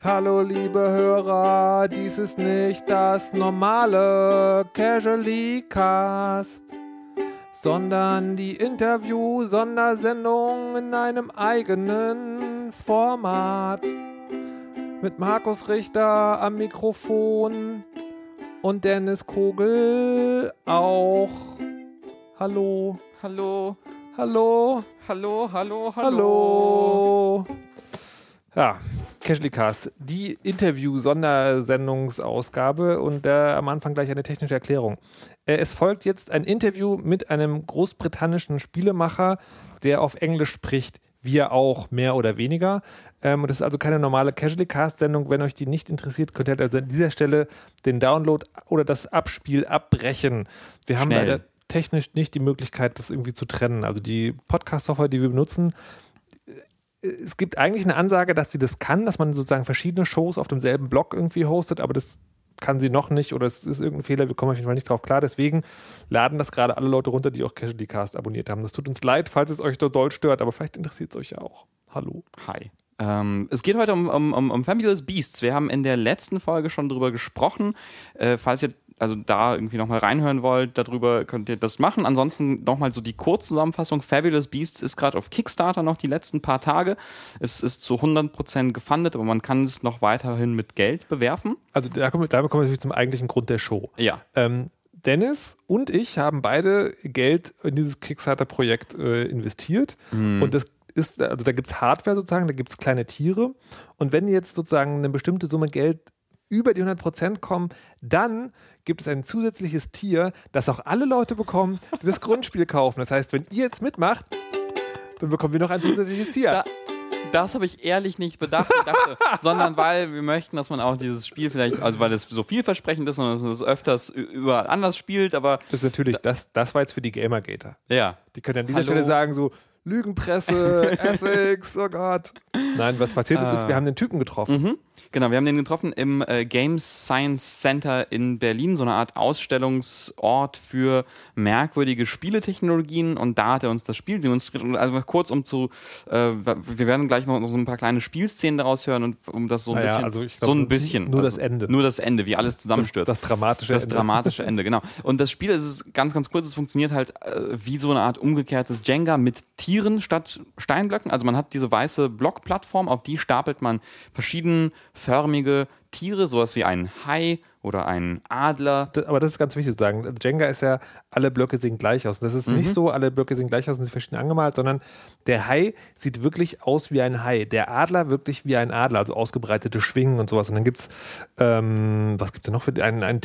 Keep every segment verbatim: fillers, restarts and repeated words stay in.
Hallo liebe Hörer, dies ist nicht das normale Casually Cast, sondern die Interview-Sondersendung in einem eigenen Format. Mit Markus Richter am Mikrofon und Dennis Kogel auch. Hallo. Hallo. Hallo. Hallo, hallo, hallo. Hallo. Ja, Casually Cast, die Interview-Sondersendungsausgabe und äh, am Anfang gleich eine technische Erklärung. Äh, es folgt jetzt ein Interview mit einem großbritannischen Spielemacher, der auf Englisch spricht. Wir auch, mehr oder weniger. Ähm, das ist also keine normale Casually Cast-Sendung. Wenn euch die nicht interessiert, könnt ihr halt also an dieser Stelle den Download oder das Abspiel abbrechen. Wir haben Schnell. leider technisch nicht die Möglichkeit, das irgendwie zu trennen. Also die Podcast-Software, die wir benutzen, es gibt eigentlich eine Ansage, dass sie das kann, dass man sozusagen verschiedene Shows auf demselben Blog irgendwie hostet, aber das kann sie noch nicht oder es ist irgendein Fehler, wir kommen auf jeden Fall nicht drauf klar. Deswegen laden das gerade alle Leute runter, die auch Casually Cast abonniert haben. Das tut uns leid, falls es euch so doll stört, aber vielleicht interessiert es euch ja auch. Hallo. Hi. Ähm, es geht heute um, um, um, um Fabulous Beasts. Wir haben in der letzten Folge schon drüber gesprochen. Äh, falls ihr also da irgendwie nochmal reinhören wollt, darüber könnt ihr das machen. Ansonsten nochmal so die Kurzzusammenfassung. Fabulous Beasts ist gerade auf Kickstarter noch die letzten paar Tage. Es ist zu hundert Prozent gefundet, aber man kann es noch weiterhin mit Geld bewerfen. Also da kommen, da kommen wir natürlich zum eigentlichen Grund der Show. Ja. Ähm, Dennis und ich haben beide Geld in dieses Kickstarter-Projekt äh, investiert. Mhm. Und das ist, also da gibt es Hardware sozusagen, da gibt es kleine Tiere. Und wenn jetzt sozusagen eine bestimmte Summe Geld über die hundert Prozent kommen, dann gibt es ein zusätzliches Tier, das auch alle Leute bekommen, die das Grundspiel kaufen. Das heißt, wenn ihr jetzt mitmacht, dann bekommen wir noch ein zusätzliches Tier. Da, das habe ich ehrlich nicht bedacht, ich dachte, sondern weil wir möchten, dass man auch dieses Spiel vielleicht, also weil es so vielversprechend ist und es öfters überall anders spielt, aber... Das ist natürlich, das, das war jetzt für die Gamergater. Ja. Die können an dieser Hallo. Stelle sagen so, Lügenpresse, Ethics, oh Gott. Nein, was passiert ist, ist, wir haben den Typen getroffen. Mhm. Genau, wir haben den getroffen im äh, Game Science Center in Berlin, so eine Art Ausstellungsort für merkwürdige Spieletechnologien, und da hat er uns das Spiel demonstriert. Und also kurz um zu, äh, wir werden gleich noch so ein paar kleine Spielszenen daraus hören, und um das so ein naja, bisschen, also ich glaub, so ein bisschen. Nur also, das Ende. Nur das Ende, wie alles zusammenstürzt. Das, das dramatische das Ende. Das dramatische Ende, genau. Und das Spiel, es ist ganz, ganz kurz, es funktioniert halt äh, wie so eine Art umgekehrtes Jenga mit Tieren statt Steinblöcken. Also man hat diese weiße Blockplattform, auf die stapelt man verschiedenförmige Tiere, sowas wie ein Hai oder ein Adler. Das, aber das ist ganz wichtig zu sagen. Jenga ist ja, alle Blöcke sehen gleich aus. Das ist mhm. nicht so, alle Blöcke sehen gleich aus und sind verschieden angemalt, sondern der Hai sieht wirklich aus wie ein Hai. Der Adler wirklich wie ein Adler, also ausgebreitete Schwingen und sowas. Und dann gibt es, ähm, was gibt es denn noch für einen, einen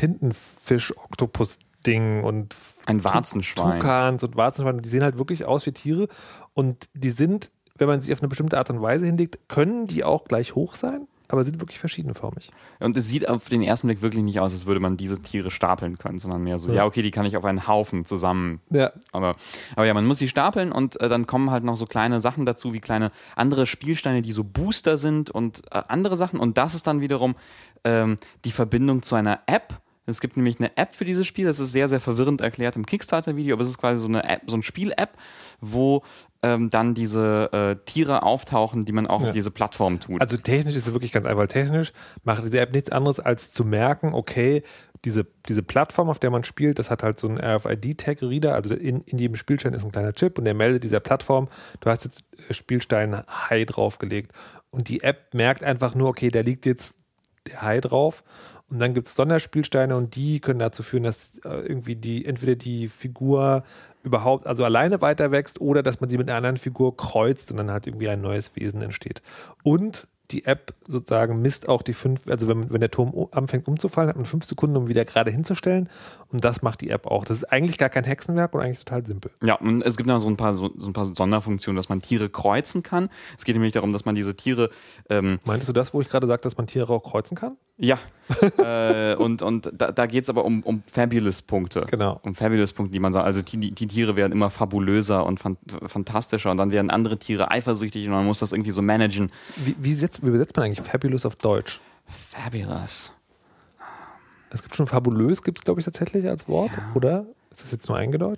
Tintenfisch-Oktopus-Ding und ein Warzenschwein. Tukans und Warzenschweine, die sehen halt wirklich aus wie Tiere und die sind, wenn man sie auf eine bestimmte Art und Weise hinlegt, können die auch gleich hoch sein, aber sind wirklich verschiedenförmig. Und es sieht auf den ersten Blick wirklich nicht aus, als würde man diese Tiere stapeln können, sondern mehr so, ja, ja okay, die kann ich auf einen Haufen zusammen. Ja. Aber, aber ja, man muss sie stapeln, und äh, dann kommen halt noch so kleine Sachen dazu, wie kleine andere Spielsteine, die so Booster sind und äh, andere Sachen. Und das ist dann wiederum ähm, die Verbindung zu einer App. Es gibt nämlich eine App für dieses Spiel, das ist sehr, sehr verwirrend erklärt im Kickstarter-Video, aber es ist quasi so eine App, so ein Spiel-App, wo ähm, dann diese äh, Tiere auftauchen, die man auch ja. auf diese Plattform tut. Also technisch ist es wirklich ganz einfach. Technisch macht diese App nichts anderes, als zu merken, okay, diese, diese Plattform, auf der man spielt, das hat halt so einen R F I D-Tag-Reader, also in, in jedem Spielstein ist ein kleiner Chip und der meldet dieser Plattform, du hast jetzt Spielstein Hai draufgelegt und die App merkt einfach nur, okay, da liegt jetzt der Hai drauf. Und dann gibt es Sonderspielsteine und die können dazu führen, dass äh, irgendwie die, entweder die Figur überhaupt, also alleine weiter wächst oder dass man sie mit einer anderen Figur kreuzt und dann halt irgendwie ein neues Wesen entsteht. Und die App sozusagen misst auch die fünf, also wenn, wenn der Turm anfängt umzufallen, hat man fünf Sekunden, um wieder gerade hinzustellen, und das macht die App auch. Das ist eigentlich gar kein Hexenwerk und eigentlich total simpel. Ja, und es gibt noch so ein paar, so, so ein paar Sonderfunktionen, dass man Tiere kreuzen kann. Es geht nämlich darum, dass man diese Tiere... Ähm, Meintest du das, wo ich gerade sagte, dass man Tiere auch kreuzen kann? Ja, äh, und, und da, da geht es aber um, um Fabulous-Punkte. Genau. Um Fabulous-Punkte, die man sagt. Also die, die Tiere werden immer fabulöser und fan- fantastischer, und dann werden andere Tiere eifersüchtig und man muss das irgendwie so managen. Wie, wie, setzt, wie übersetzt man eigentlich Fabulous auf Deutsch? Fabulous. Es gibt schon fabulös, gibt es glaube ich tatsächlich als Wort, ja. Oder? Ist das jetzt nur eingedeutscht?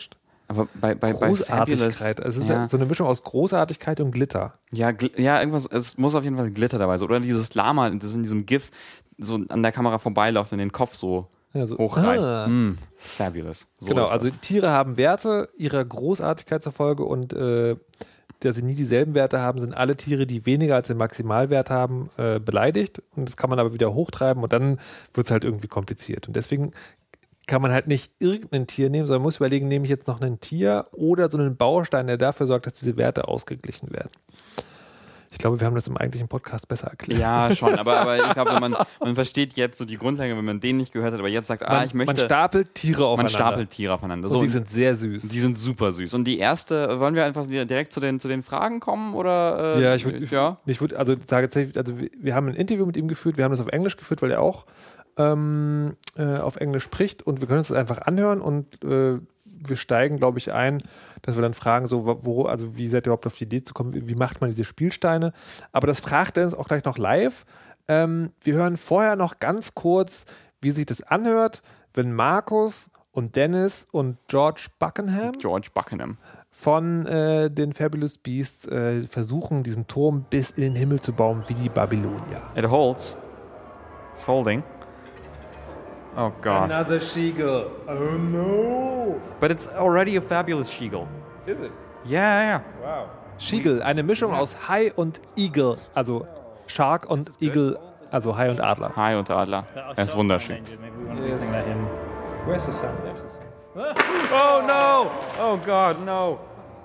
Aber bei, bei, bei Großartigkeit. Es ist ja. ja so eine Mischung aus Großartigkeit und Glitter. Ja, gl- ja, irgendwas, es muss auf jeden Fall Glitter dabei sein. Oder dieses Lama, das in diesem GIF so an der Kamera vorbeiläuft und den Kopf so, ja, so hochreißt. Ah. Mm, fabulous. So genau, also Tiere haben Werte ihrer Großartigkeit zur Folge und äh, dass sie nie dieselben Werte haben, sind alle Tiere, die weniger als den Maximalwert haben, äh, beleidigt. Und das kann man aber wieder hochtreiben und dann wird es halt irgendwie kompliziert. Und deswegen kann man halt nicht irgendein Tier nehmen, sondern muss überlegen, nehme ich jetzt noch ein Tier oder so einen Baustein, der dafür sorgt, dass diese Werte ausgeglichen werden. Ich glaube, wir haben das im eigentlichen Podcast besser erklärt. Ja, schon, aber, aber ich glaube, man, man versteht jetzt so die Grundlage, wenn man den nicht gehört hat, aber jetzt sagt, ah, man, ich möchte... Man stapelt Tiere aufeinander. Man stapelt Tiere aufeinander. So, und die sind sehr süß. Die sind super süß. Und die erste, wollen wir einfach direkt zu den, zu den Fragen kommen? Oder, äh, ja, ich würde... Ja. Ich würd, also, tatsächlich, also wir, wir haben ein Interview mit ihm geführt, wir haben das auf Englisch geführt, weil er auch ähm, äh, auf Englisch spricht und wir können uns das einfach anhören und äh, wir steigen, glaube ich, ein, dass wir dann fragen, so, wo, also wie seid ihr überhaupt auf die Idee zu kommen, wie, wie macht man diese Spielsteine? Aber das fragt Dennis auch gleich noch live. Ähm, wir hören vorher noch ganz kurz, wie sich das anhört, wenn Markus und Dennis und George Buckingham, George Buckingham. von äh, den Fabulous Beasts äh, versuchen, diesen Turm bis in den Himmel zu bauen, wie die Babylonier. It holds. It's holding. Oh God. Another Sheagle. Oh no. But it's already a fabulous Sheagle. Is it? Yeah, yeah. Wow. Sheagle, eine Mischung aus Hai und Eagle. Also Shark und Eagle, also Hai und Adler. Hai und Adler. Er ist wunderschön. Yes. Where's the sound? There's the sound. Oh no! Oh God, no.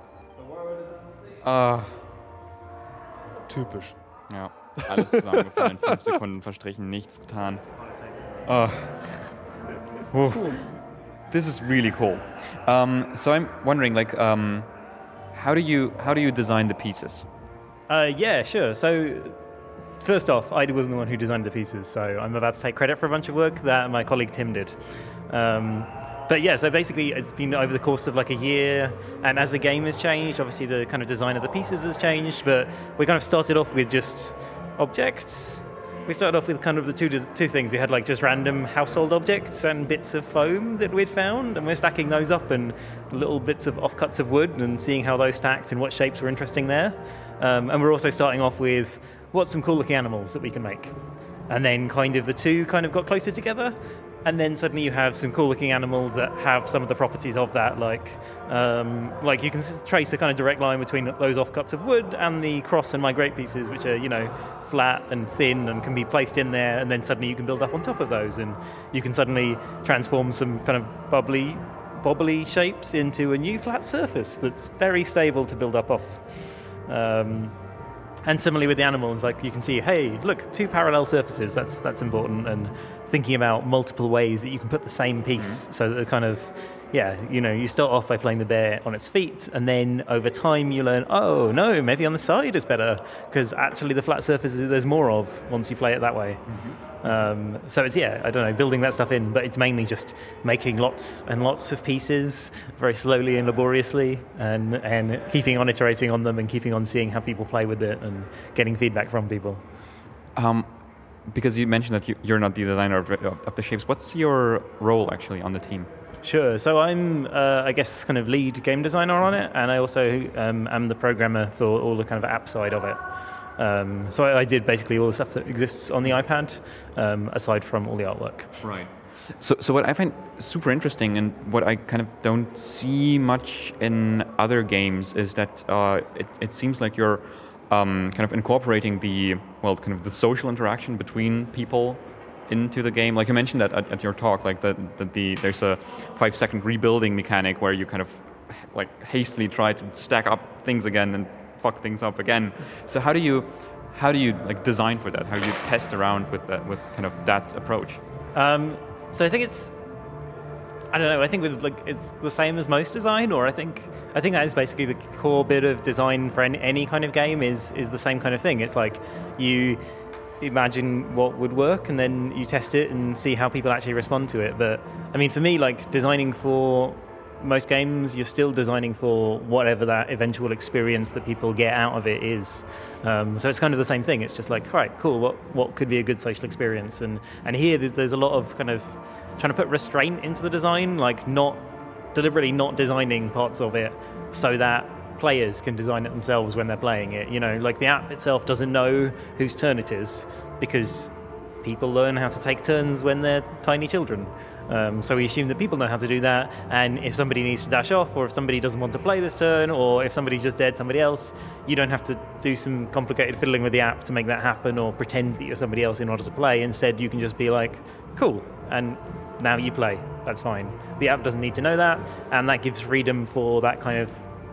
Uh. Typisch. Ja, alles zusammengefallen. Fünf Sekunden verstrichen, nichts getan. Oh. Cool. This is really cool. Um, so I'm wondering, like, um, how do you how do you design the pieces? Uh, yeah, sure. So first off, I wasn't the one who designed the pieces, so I'm about to take credit for a bunch of work that my colleague Tim did. Um, but yeah, so basically it's been over the course of like a year, and as the game has changed, obviously the kind of design of the pieces has changed, but we kind of started off with just objects. We started off with kind of the two two things. We had like just random household objects and bits of foam that we'd found, and we're stacking those up and little bits of offcuts of wood and seeing how those stacked and what shapes were interesting there. Um, and we're also starting off with what's some cool looking animals that we can make. And then kind of the two kind of got closer together. And then suddenly you have some cool looking animals that have some of the properties of that, like um, like you can trace a kind of direct line between those offcuts of wood and the cross and migrate pieces, which are, you know, flat and thin and can be placed in there, and then suddenly you can build up on top of those, and you can suddenly transform some kind of bubbly, bobbly shapes into a new flat surface that's very stable to build up off. Um, And similarly with the animals, like you can see, hey, look, two parallel surfaces, that's that's important, and thinking about multiple ways that you can put the same piece, mm-hmm. so that the kind of, yeah, you know, you start off by playing the bear on its feet, and then over time you learn, oh, no, maybe on the side is better, because actually the flat surfaces there's more of once you play it that way. Mm-hmm. Um, so it's, yeah, I don't know, building that stuff in, but it's mainly just making lots and lots of pieces very slowly and laboriously, and, and keeping on iterating on them and keeping on seeing how people play with it and getting feedback from people. Um, because you mentioned that you, you're not the designer of, of the shapes, what's your role actually on the team? Sure. So I'm, uh, I guess, kind of lead game designer on it, and I also um, am the programmer for all the kind of app side of it. Um, so I, I did basically all the stuff that exists on the iPad, um, aside from all the artwork. Right. So, so what I find super interesting, and what I kind of don't see much in other games, is that uh, it, it seems like you're um, kind of incorporating the, well, kind of the social interaction between people into the game. Like you mentioned that at, at your talk, like that the, the there's a five second rebuilding mechanic where you kind of like hastily try to stack up things again and fuck things up again. So how do you how do you like design for that? How do you test around with that, with kind of that approach? Um, so I think it's I don't know. I think with like it's the same as most design, or I think I think that is basically the core bit of design for any, any kind of game is is the same kind of thing. It's like you imagine what would work and then you test it and see how people actually respond to it. But I mean, for me, like designing for most games, you're still designing for whatever that eventual experience that people get out of it is. Um, so it's kind of the same thing. It's just like, all right, cool, what what could be a good social experience? And and here there's, there's a lot of kind of trying to put restraint into the design, like not deliberately not designing parts of it so that players can design it themselves when they're playing it. You know, like the app itself doesn't know whose turn it is because people learn how to take turns when they're tiny children. Um, so we assume that people know how to do that, and if somebody needs to dash off, or if somebody doesn't want to play this turn, or if somebody's just dead somebody else, you don't have to do some complicated fiddling with the app to make that happen or pretend that you're somebody else in order to play. Instead, you can just be like, cool, and now you play. That's fine. The app doesn't need to know that, and that gives freedom for that kind of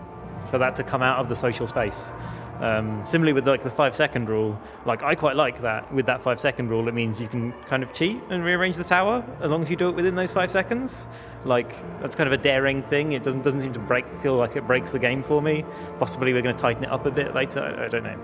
for that to come out of the social space. Um, similarly with like the five second rule, like I quite like that. With that five second rule, it means you can kind of cheat and rearrange the tower as long as you do it within those five seconds. Like that's kind of a daring thing. It doesn't doesn't seem to break feel like it breaks the game for me. Possibly we're going to tighten it up a bit later. I, I don't know.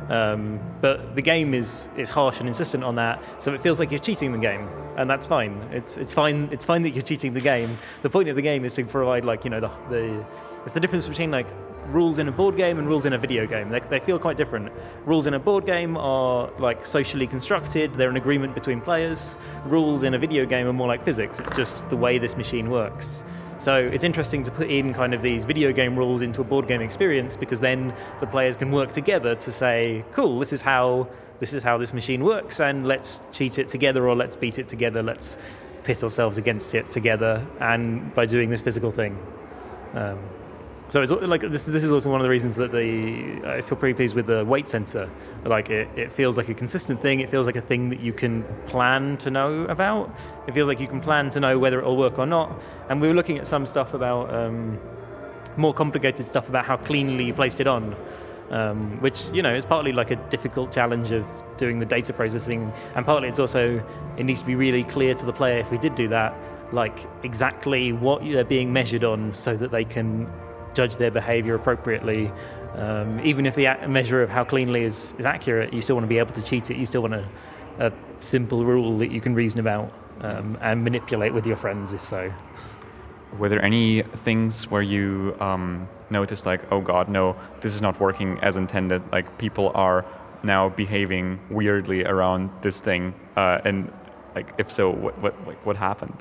Um, but the game is is harsh and insistent on that, so it feels like you're cheating the game, and that's fine. It's it's fine. It's fine that you're cheating the game. The point of the game is to provide like you know the the it's the difference between like rules in a board game and rules in a video game. They, they feel quite different. Rules in a board game are like socially constructed. They're an agreement between players. Rules in a video game are more like physics. It's just the way this machine works. So it's interesting to put in kind of these video game rules into a board game experience, because then the players can work together to say, cool, this is how this is how this machine works, and let's cheat it together, or let's beat it together, let's pit ourselves against it together, and by doing this physical thing. Um, So it's like this. This is also one of the reasons that the I feel pretty pleased with the weight sensor. Like it, it feels like a consistent thing. It feels like a thing that you can plan to know about. It feels like you can plan to know whether it will work or not. And we were looking at some stuff about um, more complicated stuff about how cleanly you placed it on, um, which you know is partly like a difficult challenge of doing the data processing, and partly it's also it needs to be really clear to the player if we did do that, like exactly what they're being measured on, so that they can judge their behavior appropriately. Um, even if the a- measure of how cleanly is, is accurate, you still want to be able to cheat it. You still want a, a simple rule that you can reason about um, and manipulate with your friends, if so. Were there any things where you um, noticed like, oh God, no, this is not working as intended, like people are now behaving weirdly around this thing, uh, and like, if so, what what what happened?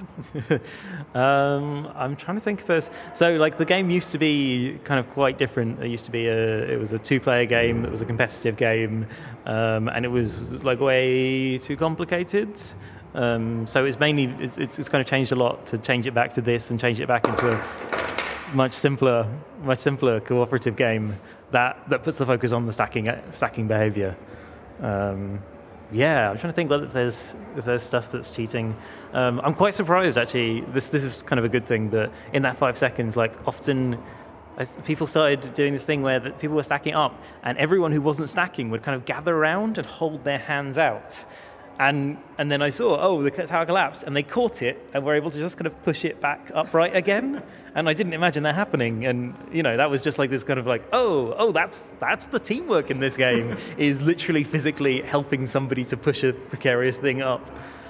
um, I'm trying to think if there's... So, like, the game used to be kind of quite different. It used to be a... It was a two-player game. It was a competitive game. Um, and it was, like, way too complicated. Um, so it's mainly... It's, it's, it's kind of changed a lot to change it back to this and change it back into a much simpler, much simpler cooperative game that, that puts the focus on the stacking stacking behavior. Um Yeah, I'm trying to think whether if there's if there's stuff that's cheating. Um, I'm quite surprised actually. This this is kind of a good thing, but in that five seconds, like often, as people started doing this thing where the people were stacking up, and everyone who wasn't stacking would kind of gather around and hold their hands out, and and then I saw oh the tower collapsed, and they caught it and were able to just kind of push it back upright again, and I didn't imagine that happening, and you know that was just like this kind of like oh oh that's that's the teamwork in this game is literally physically helping somebody to push a precarious thing up.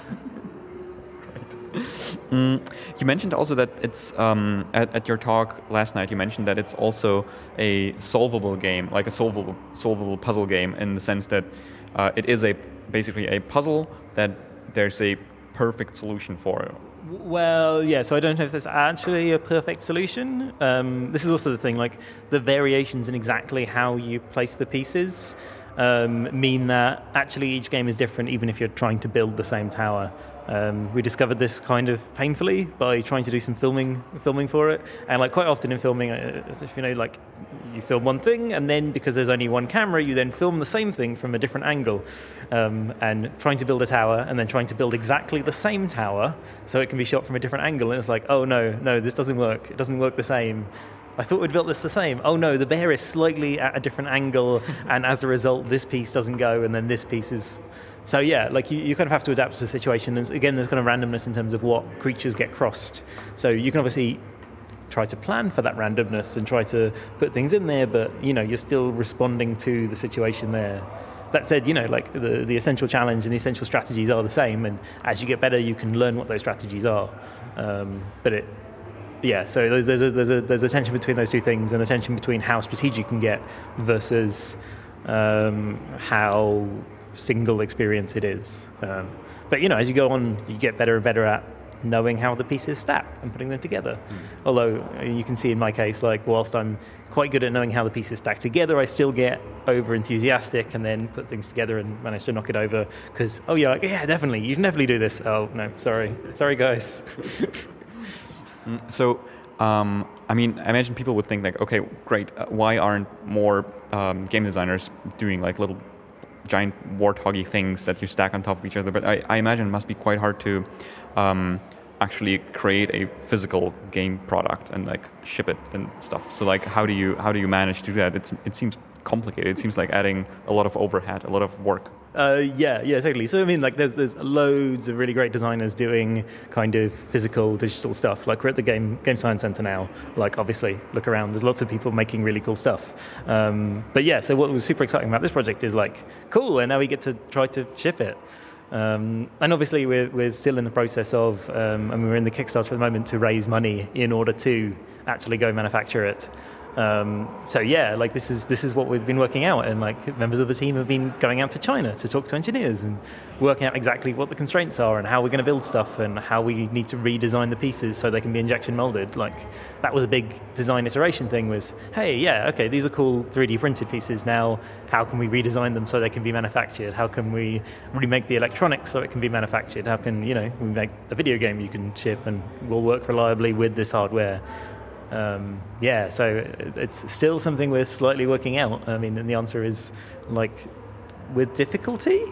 Mm, you mentioned also that it's um, at, at your talk last night. You mentioned that it's also a solvable game, like a solvable solvable puzzle game, in the sense that uh, it is a basically a puzzle that there's a perfect solution for. Well, yeah, so I don't know if there's actually a perfect solution. Um, this is also the thing, like the variations in exactly how you place the pieces um, mean that actually each game is different, even if you're trying to build the same tower. Um, we discovered this kind of painfully by trying to do some filming filming for it. And like quite often in filming, uh, you know, like you film one thing, and then because there's only one camera, you then film the same thing from a different angle. Um, and trying to build a tower, and then trying to build exactly the same tower so it can be shot from a different angle. And it's like, oh no, no, this doesn't work. It doesn't work the same. I thought we'd built this the same. Oh no, the bear is slightly at a different angle, and as a result, this piece doesn't go, and then this piece is... So yeah, like you, you kind of have to adapt to the situation. And again, there's kind of randomness in terms of what creatures get crossed. So you can obviously try to plan for that randomness and try to put things in there, but you know, you're still responding to the situation there. That said, you know, like the, the essential challenge and the essential strategies are the same, and as you get better, you can learn what those strategies are. Um, but it, yeah, so there's, there's a there's a there's a tension between those two things, and a tension between how strategic you can get versus um, how single experience it is. Um, but you know, as you go on, you get better and better at knowing how the pieces stack and putting them together. Mm. Although you can see in my case, like whilst I'm quite good at knowing how the pieces stack together, I still get over enthusiastic and then put things together and manage to knock it over because, oh yeah, like, yeah, definitely, you can definitely do this. Oh no, sorry, sorry guys. So, um, I mean, I imagine people would think like, okay, great, uh, why aren't more um, game designers doing like little giant warthoggy things that you stack on top of each other? But I, I imagine it must be quite hard to um, actually create a physical game product and like ship it and stuff. So like, how do you how do you manage to do that? It's it seems complicated. It seems like adding a lot of overhead, a lot of work. Uh, yeah, yeah, totally. So I mean, like, there's there's loads of really great designers doing kind of physical, digital stuff. Like, we're at the Game Game Science Center now. Like, obviously, look around. There's lots of people making really cool stuff. Um, but yeah, so what was super exciting about this project is like, cool, and now we get to try to ship it. Um, and obviously, we're we're still in the process of, um, and we're in the Kickstarter at the moment to raise money in order to actually go manufacture it. Um, so yeah, like this is this is what we've been working out, and like members of the team have been going out to China to talk to engineers and working out exactly what the constraints are and how we're going to build stuff and how we need to redesign the pieces so they can be injection molded. Like that was a big design iteration thing. Was hey, yeah, okay, these are cool three D printed pieces. Now, how can we redesign them so they can be manufactured? How can we remake the electronics so it can be manufactured? How can you know we make a video game you can ship and will work reliably with this hardware? Um, yeah, so it's still something we're slightly working out. I mean, and the answer is like with difficulty.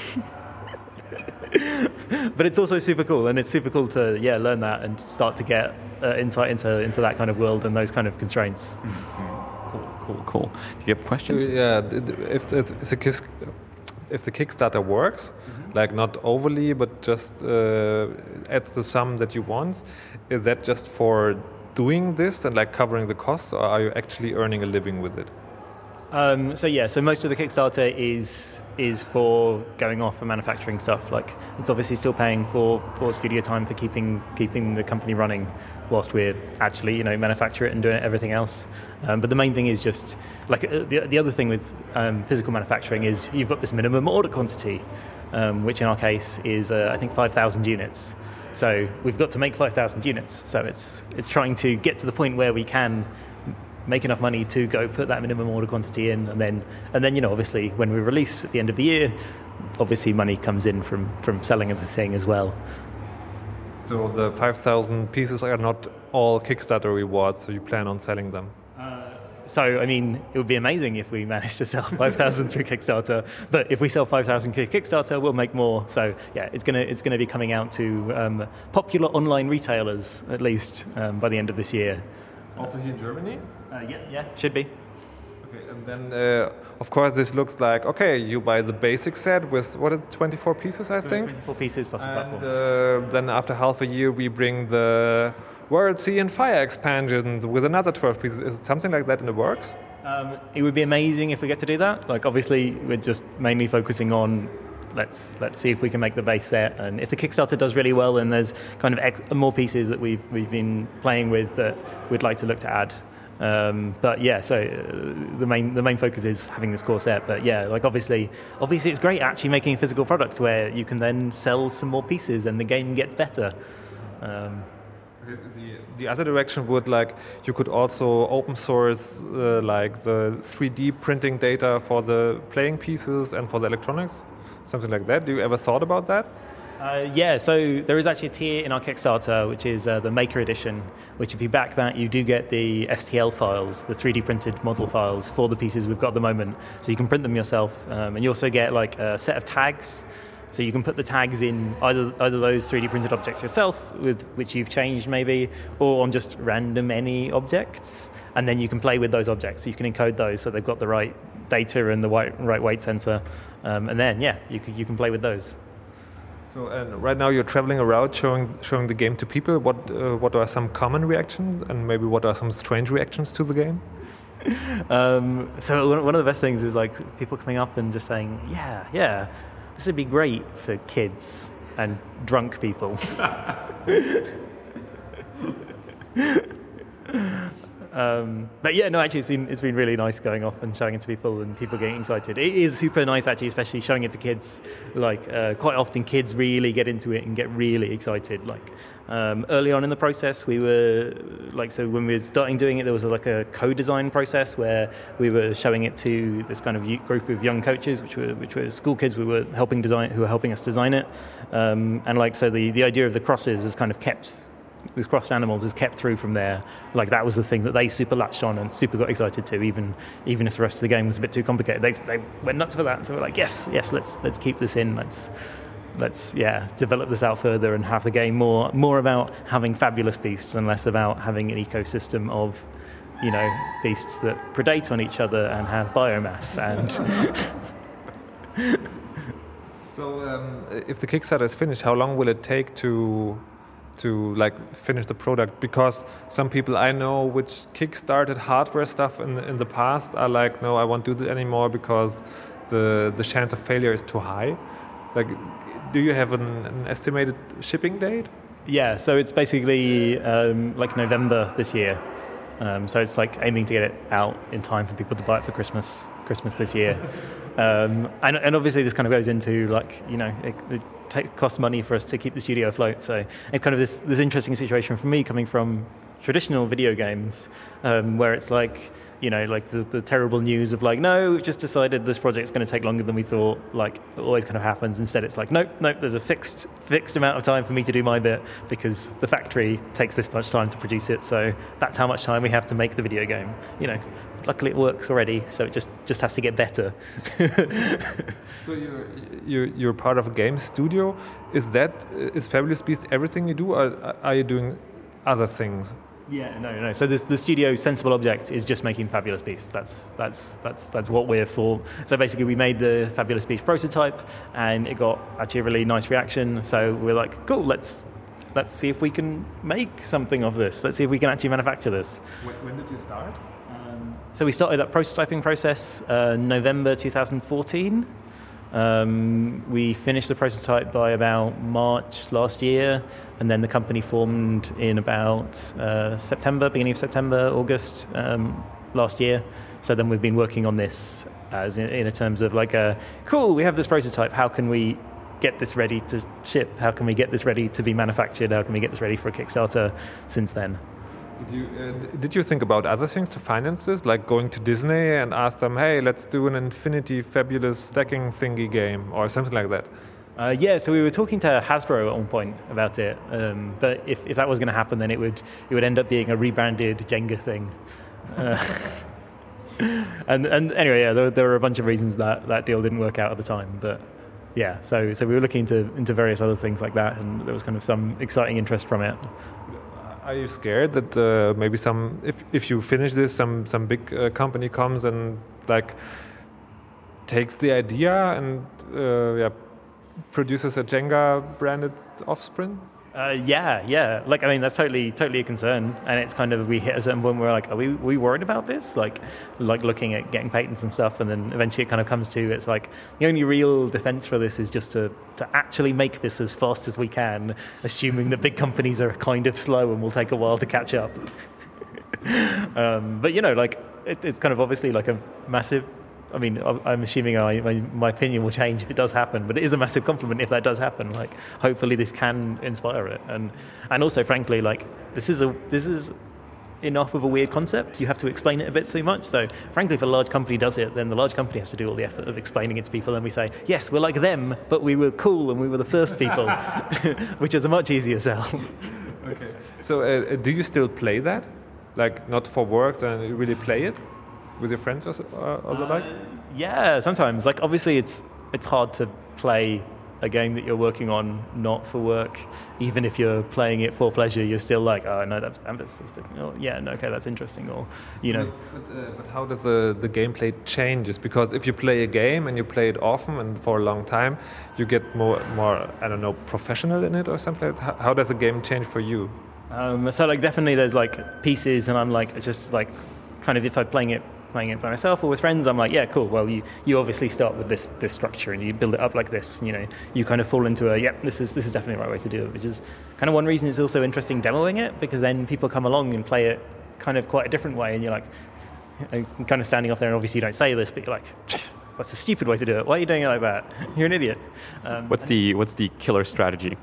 But it's also super cool, and it's super cool to yeah learn that and start to get uh, insight into into that kind of world and those kind of constraints. Mm-hmm. Cool, cool, cool. Do you have questions? Yeah, if the, if the, kiss, if the Kickstarter works, mm-hmm. like not overly, but just uh, adds the sum that you want, is that just for doing this and like covering the costs, or are you actually earning a living with it? Um, so yeah, so most of the Kickstarter is is for going off and manufacturing stuff. Like it's obviously still paying for, for studio time for keeping keeping the company running whilst we're actually you know manufacture it and doing everything else. Um, but the main thing is just like uh, the the other thing with um, physical manufacturing is you've got this minimum order quantity, um, which in our case is uh, I think five thousand units. So we've got to make five thousand units. So it's it's trying to get to the point where we can make enough money to go put that minimum order quantity in, and then and then you know obviously when we release at the end of the year, obviously money comes in from from selling of the thing as well. So the five thousand pieces are not all Kickstarter rewards. So you plan on selling them? So, I mean, it would be amazing if we managed to sell five thousand through Kickstarter. But if we sell five thousand through Kickstarter, we'll make more. So, yeah, it's gonna it's gonna be coming out to um, popular online retailers at least um, by the end of this year. Also here in Germany? Uh, yeah, yeah, should be. Okay, and then uh, of course this looks like okay, you buy the basic set with what, twenty-four pieces, I think. twenty-four pieces plus the platform. And uh, then after half a year, we bring the World, Sea and Fire expansion with another twelve pieces. Is it something like that in the works? Um, it would be amazing if we get to do that. Like, obviously, we're just mainly focusing on let's let's see if we can make the base set, and if the Kickstarter does really well, and there's kind of ex- more pieces that we've we've been playing with that we'd like to look to add. Um, but yeah, so uh, the main the main focus is having this core set. But yeah, like obviously, obviously it's great actually making a physical product where you can then sell some more pieces and the game gets better. Um, The, the other direction would like you could also open source uh, like the three D printing data for the playing pieces and for the electronics, something like that. Do you ever thought about that? Uh, yeah, so there is actually a tier in our Kickstarter which is uh, the Maker Edition, which if you back that you do get the S T L files, the three D printed model files for the pieces we've got at the moment. So you can print them yourself, um, and you also get like a set of tags. So you can put the tags in either either those three D printed objects yourself, with which you've changed maybe, or on just random any objects, and then you can play with those objects. So you can encode those so they've got the right data and the right, right weight center, um, and then yeah, you can you can play with those. So and right now you're traveling around showing showing the game to people. What uh, what are some common reactions, and maybe what are some strange reactions to the game? um, so one of the best things is like people coming up and just saying, yeah, yeah. This would be great for kids and drunk people. Um, but yeah, no, actually, it's been it's been really nice going off and showing it to people and people getting excited. It is super nice, actually, especially showing it to kids. Like uh, quite often, kids really get into it and get really excited. Like um, early on in the process, we were like so when we were starting doing it, there was a, like a co-design process where we were showing it to this kind of group of young coaches, which were which were school kids. We were helping design, who were helping us design it, um, and like so the the idea of the crosses is kind of kept. These crossed animals is kept through from there. Like that was the thing that they super latched on and super got excited to, even even if the rest of the game was a bit too complicated. They they went nuts for that. So we're like, yes, yes, let's let's keep this in. Let's let's yeah develop this out further and have the game more more about having fabulous beasts and less about having an ecosystem of, you know, beasts that predate on each other and have biomass and. So um, if the Kickstarter is finished, how long will it take to? to like finish the product? Because some people I know which kickstarted hardware stuff in the, in the past are like, no, I won't do that anymore because the the chance of failure is too high. Like, do you have an, an estimated shipping date? Yeah, so it's basically um, like November this year. Um, so it's like aiming to get it out in time for people to buy it for Christmas, Christmas this year. um, and, and obviously this kind of goes into like, you know, it, it take, costs money for us to keep the studio afloat. So it's kind of this, this interesting situation for me coming from traditional video games um, where it's like, you know, like the, the terrible news of like, no, we've just decided this project's going to take longer than we thought. Like, it always kind of happens. Instead, it's like, nope, nope, there's a fixed fixed amount of time for me to do my bit because the factory takes this much time to produce it. So that's how much time we have to make the video game. You know, luckily it works already, so it just, just has to get better. So you're, you're you're part of a game studio. Is that is Fabulous Beast everything you do, or are you doing other things? Yeah, no, no. So this, the studio Sensible Object is just making Fabulous Beasts. That's that's that's that's what we're for. So basically, we made the Fabulous Beast prototype, and it got actually a really nice reaction. So we're like, cool, let's let's see if we can make something of this. Let's see if we can actually manufacture this. When, when did you start? Um, so we started that prototyping process uh, November two thousand fourteen. Um, we finished the prototype by about March last year, and then the company formed in about uh, September, beginning of September, August um, last year. So then we've been working on this as in, in terms of like, a, cool, we have this prototype, how can we get this ready to ship? How can we get this ready to be manufactured? How can we get this ready for a Kickstarter since then? Did you uh, did you think about other things to finance this, like going to Disney and ask them, hey, let's do an Infinity Fabulous stacking thingy game or something like that? Uh, yeah, so we were talking to Hasbro at one point about it, um, but if, if that was going to happen, then it would it would end up being a rebranded Jenga thing. Uh, and and anyway, yeah, there, there were a bunch of reasons that that deal didn't work out at the time, but yeah, so so we were looking into into various other things like that, and there was kind of some exciting interest from it. Are you scared that uh, maybe some, if if you finish this, some some big uh, company comes and like takes the idea and uh, yeah, produces a Jenga branded Offspring? Uh, yeah, yeah. Like, I mean, that's totally, totally a concern. And it's kind of, we hit a certain point where we're like, are we, are we worried about this? Like, like looking at getting patents and stuff. And then eventually it kind of comes to, it's like, the only real defense for this is just to, to actually make this as fast as we can, assuming that big companies are kind of slow and will take a while to catch up. um, but, you know, like, it, it's kind of obviously like a massive, I mean, I'm assuming I, my, my opinion will change if it does happen, but it is a massive compliment if that does happen. Like, hopefully this can inspire it, and and also, frankly, like this is a this is enough of a weird concept. You have to explain it a bit too much. So, frankly, if a large company does it, then the large company has to do all the effort of explaining it to people, and we say, yes, we're like them, but we were cool and we were the first people, which is a much easier sell. Okay. So, uh, do you still play that? Like, not for work, then you really play it? With your friends or, or, or the like? Uh, yeah, sometimes. Like, obviously, it's it's hard to play a game that you're working on not for work. Even if you're playing it for pleasure, you're still like, oh no, that's, that's oh, yeah, no, okay, that's interesting, or you know. But, uh, but how does the the gameplay changes? Because if you play a game and you play it often and for a long time, you get more more I don't know professional in it or something like that. How does the game change for you? Um, so like definitely there's like pieces, and I'm like just like kind of if I'm playing it. playing it by myself or with friends, I'm like, yeah, cool. Well, you, you obviously start with this this structure and you build it up like this. You know, you kind of fall into a, yep, this is this is definitely the right way to do it. Which is kind of one reason it's also interesting demoing it, because then people come along and play it kind of quite a different way, and you're like, you're kind of standing off there, and obviously you don't say this, but you're like, that's a stupid way to do it. Why are you doing it like that? You're an idiot. Um, what's the what's the killer strategy?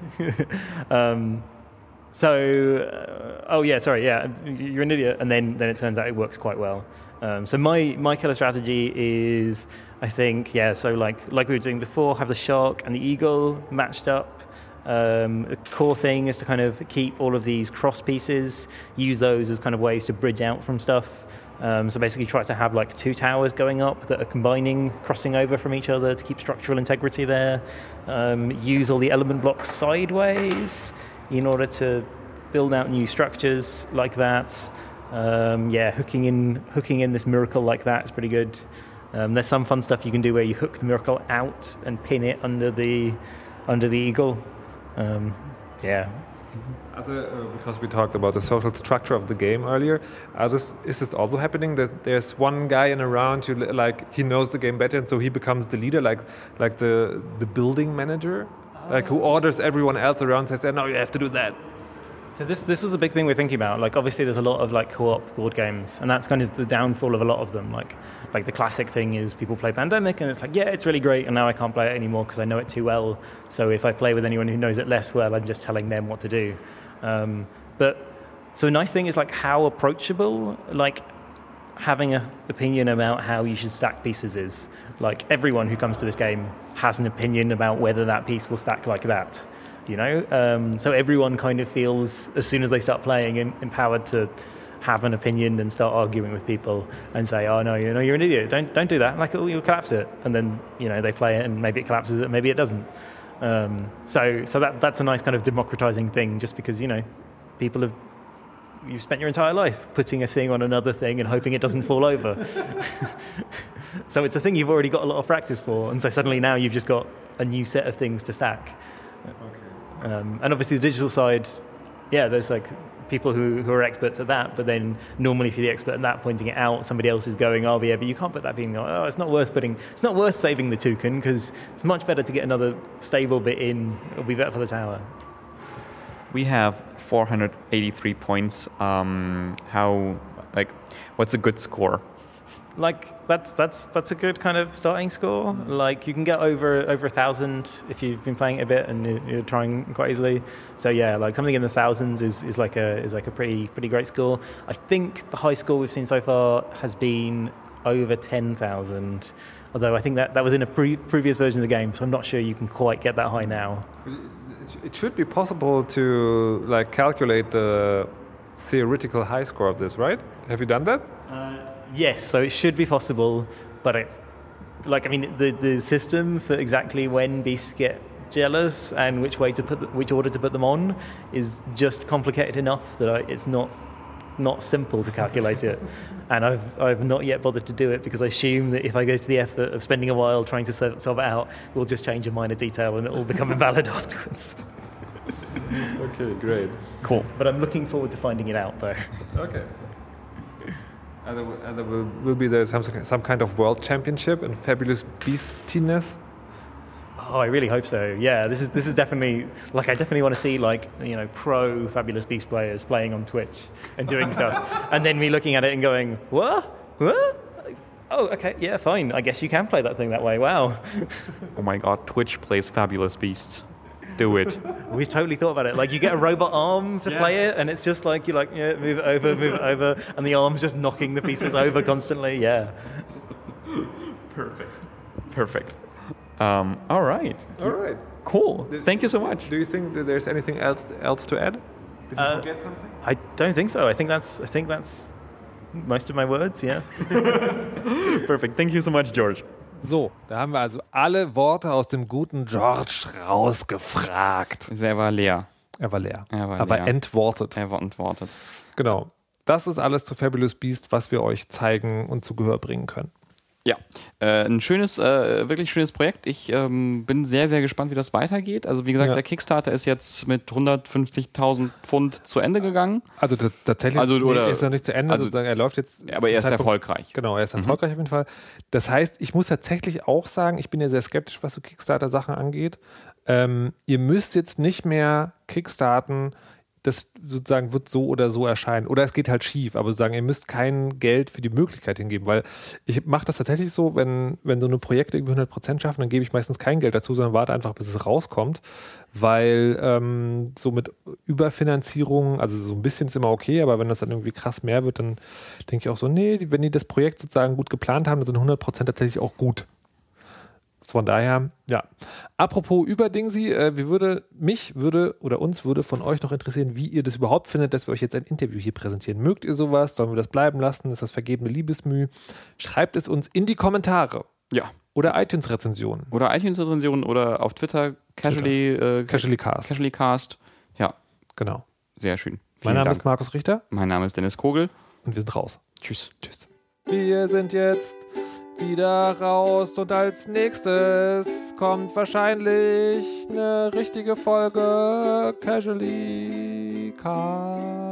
um, so, uh, oh yeah, sorry, yeah, you're an idiot, and then then it turns out it works quite well. Um, so my my killer strategy is, I think, yeah, so like like we were doing before, have the shark and the eagle matched up. Um, the core thing is to kind of keep all of these cross pieces, use those as kind of ways to bridge out from stuff. Um, so basically try to have like two towers going up that are combining, crossing over from each other to keep structural integrity there. Um, use all the element blocks sideways in order to build out new structures like that. Um, yeah, hooking in hooking in this miracle like that is pretty good. Um, there's some fun stuff you can do where you hook the miracle out and pin it under the under the eagle. Um, yeah. Other, uh, because we talked about the social structure of the game earlier, are this, is this also happening that there's one guy in a round who like he knows the game better and so he becomes the leader, like like the the building manager, oh. like who orders everyone else around, says, "No, you have to do that." So this this was a big thing we're thinking about. Like obviously there's a lot of like co-op board games, and that's kind of the downfall of a lot of them. Like like the classic thing is people play Pandemic and it's like, yeah, it's really great, and now I can't play it anymore because I know it too well. So if I play with anyone who knows it less well, I'm just telling them what to do. Um, but so a nice thing is like how approachable like having an opinion about how you should stack pieces is. Like everyone who comes to this game has an opinion about whether that piece will stack like that. You know, um, so everyone kind of feels, as soon as they start playing, in, empowered to have an opinion and start arguing with people and say, "Oh no, you know, you're an idiot. Don't don't do that. Like, oh, you'll collapse it." And then you know they play it, and maybe it collapses it, maybe it doesn't. Um, so so that that's a nice kind of democratizing thing, just because you know people have you've spent your entire life putting a thing on another thing and hoping it doesn't fall over. So it's a thing you've already got a lot of practice for, and so suddenly now you've just got a new set of things to stack. Okay. Um, and obviously the digital side, yeah, there's like people who, who are experts at that, but then normally if you're the expert at that, pointing it out, somebody else is going, oh yeah, but you can't put that being, oh, it's not worth putting, it's not worth saving the token because it's much better to get another stable bit in, it'll be better for the tower. We have four hundred eighty-three points. Um, how, like, what's a good score? Like that's that's that's a good kind of starting score. Like you can get over over a thousand if you've been playing it a bit and you're trying quite easily. So yeah, like something in the thousands is, is like a is like a pretty pretty great score. I think the high score we've seen so far has been over ten thousand. Although I think that, that was in a pre- previous version of the game, so I'm not sure you can quite get that high now. It should be possible to like calculate the theoretical high score of this, right? Have you done that? Uh, Yes, so it should be possible, but it's like I mean the, the system for exactly when beasts get jealous and which way to put the, which order to put them on is just complicated enough that I, it's not not simple to calculate it, and I've I've not yet bothered to do it because I assume that if I go to the effort of spending a while trying to solve, solve it out, we'll just change a minor detail and it will become invalid afterwards. Okay, great, cool. But I'm looking forward to finding it out though. Okay. And there, will, and there will, will be there some some kind of world championship in fabulous beastiness. Oh, I really hope so. Yeah, this is this is definitely like I definitely want to see like you know pro Fabulous Beast players playing on Twitch and doing stuff, and then me looking at it and going, what? What? Oh, okay, yeah, fine. I guess you can play that thing that way. Wow. Oh my God, Twitch plays Fabulous Beasts. Do it. We've totally thought about it. Like you get a robot arm to yes. play it, and it's just like you like yeah, move it over, move it over, and the arm's just knocking the pieces over constantly. Yeah. Perfect. Perfect. Um, all right. All right. Cool. Thank you so much. Do you think that there's anything else else to add? Did you uh, forget something? I don't think so. I think that's I think that's most of my words. Yeah. Perfect. Thank you so much, George. So, da haben wir also alle Worte aus dem guten George rausgefragt. Er war leer. Er war leer. Er war Aber leer. entwortet. Er war entwortet. Genau. Das ist alles zu Fabulous Beast, was wir euch zeigen und zu Gehör bringen können. Ja, äh, ein schönes, äh, wirklich schönes Projekt. Ich ähm, bin sehr, sehr gespannt, wie das weitergeht. Also wie gesagt, ja. der Kickstarter ist jetzt mit hundertfünfzigtausend Pfund zu Ende gegangen. Also t- tatsächlich also, oder, nee, ist er nicht zu Ende, also, sozusagen. Er läuft jetzt. Aber er ist Zeitpunkt, erfolgreich. Genau, er ist erfolgreich mhm. auf jeden Fall. Das heißt, ich muss tatsächlich auch sagen, ich bin ja sehr skeptisch, was so Kickstarter-Sachen angeht. Ähm, ihr müsst jetzt nicht mehr kickstarten, das sozusagen wird so oder so erscheinen. Oder es geht halt schief, aber sozusagen, ihr müsst kein Geld für die Möglichkeit hingeben, weil ich mache das tatsächlich so, wenn, wenn so eine Projekte irgendwie hundert Prozent schaffen, dann gebe ich meistens kein Geld dazu, sondern warte einfach, bis es rauskommt, weil ähm, so mit Überfinanzierung, also so ein bisschen ist immer okay, aber wenn das dann irgendwie krass mehr wird, dann denke ich auch so, nee, wenn die das Projekt sozusagen gut geplant haben, dann sind hundert Prozent tatsächlich auch gut. Von daher, ja. Apropos Überdingsi, äh, wie würde mich würde oder uns würde von euch noch interessieren, wie ihr das überhaupt findet, dass wir euch jetzt ein Interview hier präsentieren. Mögt ihr sowas? Sollen wir das bleiben lassen? Ist das vergebene Liebesmüh? Schreibt es uns in die Kommentare. Ja. Oder iTunes-Rezensionen. Oder iTunes-Rezensionen oder auf Twitter, Casually, Äh, Casually Cast. Casually Cast. Ja. Genau. Sehr schön. Vielen mein Name Dank. ist Markus Richter. Mein Name ist Dennis Kogel. Und wir sind raus. Tschüss. Tschüss. Wir sind jetzt wieder raus und als nächstes kommt wahrscheinlich eine richtige Folge Casually Cast.